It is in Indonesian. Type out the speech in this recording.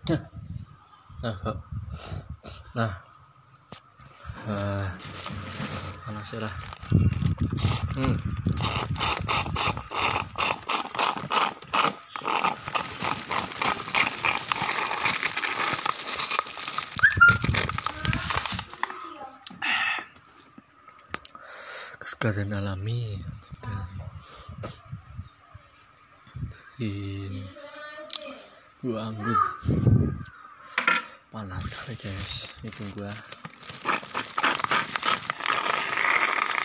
Nah, nah, panas ya lah. Kesegaran alami dari buah anggur. Panas sekali guys, itu gua